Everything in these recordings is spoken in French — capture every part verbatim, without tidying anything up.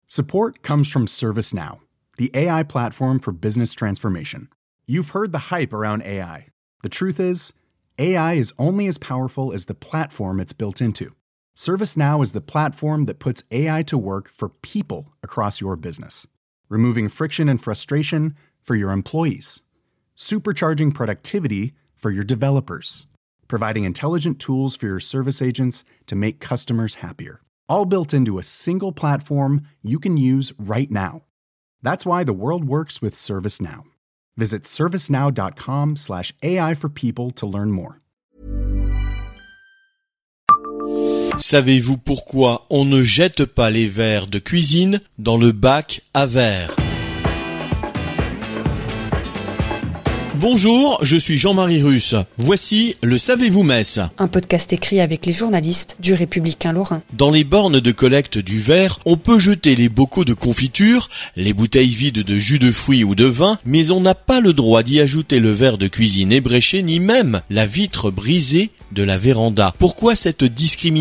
Support comes from ServiceNow, the A I platform for business transformation. You've heard the hype around A I. The truth is, A I is only as powerful as the platform it's built into. ServiceNow is the platform that puts A I to work for people across your business, removing friction and frustration for your employees, supercharging productivity for your developers, providing intelligent tools for your service agents to make customers happier. All built into a single platform you can use right now. That's why the world works with ServiceNow. Visit servicenow.com slash AI for people to learn more. Savez-vous pourquoi on ne jette pas les verres de cuisine dans le bac à verre ? Bonjour, je suis Jean-Marie Russe. Voici le Savez-vous Metz ? Un podcast écrit avec les journalistes du Républicain Lorrain. Dans les bornes de collecte du verre, on peut jeter les bocaux de confiture, les bouteilles vides de jus de fruits ou de vin, mais on n'a pas le droit d'y ajouter le verre de cuisine ébréché, ni même la vitre brisée de la véranda. Pourquoi cette discrimination ?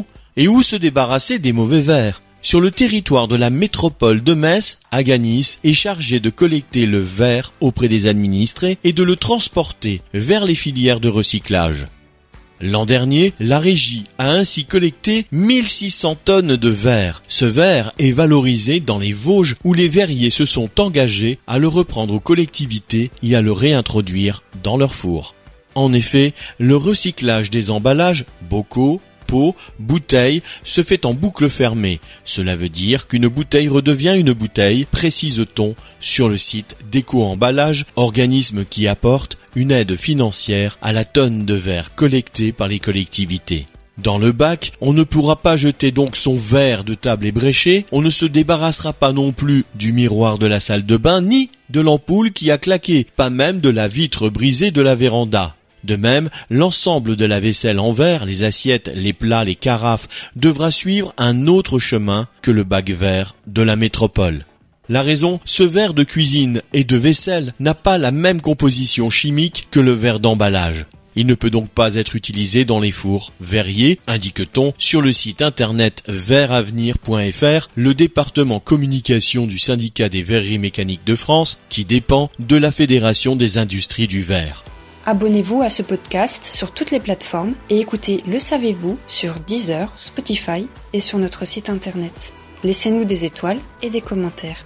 Et où se débarrasser des mauvais verres ? Sur le territoire de la métropole de Metz, Aganis est chargé de collecter le verre auprès des administrés et de le transporter vers les filières de recyclage. L'an dernier, la régie a ainsi collecté mille six cents tonnes de verre. Ce verre est valorisé dans les Vosges où les verriers se sont engagés à le reprendre aux collectivités et à le réintroduire dans leur four. En effet, le recyclage des emballages, bocaux, pots, bouteilles, se fait en boucle fermée. Cela veut dire qu'une bouteille redevient une bouteille, précise-t-on sur le site d'Éco-Emballage, organisme qui apporte une aide financière à la tonne de verre collectée par les collectivités. Dans le bac, on ne pourra pas jeter donc son verre de table ébréché, on ne se débarrassera pas non plus du miroir de la salle de bain, ni de l'ampoule qui a claqué, pas même de la vitre brisée de la véranda. De même, l'ensemble de la vaisselle en verre, les assiettes, les plats, les carafes, devra suivre un autre chemin que le bac verre de la métropole. La raison, ce verre de cuisine et de vaisselle n'a pas la même composition chimique que le verre d'emballage. Il ne peut donc pas être utilisé dans les fours verriers, indique-t-on sur le site internet verreavenir point f r, le département communication du syndicat des verreries mécaniques de France, qui dépend de la Fédération des industries du verre. Abonnez-vous à ce podcast sur toutes les plateformes et écoutez Le Savez-vous sur Deezer, Spotify et sur notre site internet. Laissez-nous des étoiles et des commentaires.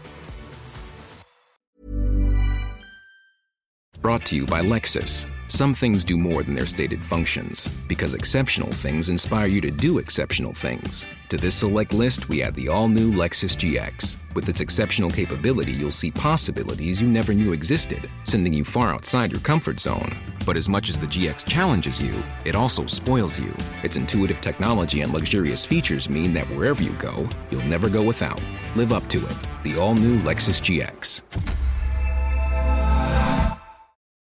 Brought to you by Lexus. Some things do more than their stated functions, because exceptional things inspire you to do exceptional things. To this select list, we add the all-new Lexus G X. With its exceptional capability, you'll see possibilities you never knew existed, sending you far outside your comfort zone. But as much as the G X challenges you, it also spoils you. Its intuitive technology and luxurious features mean that wherever you go, you'll never go without. Live up to it. The all-new Lexus G X.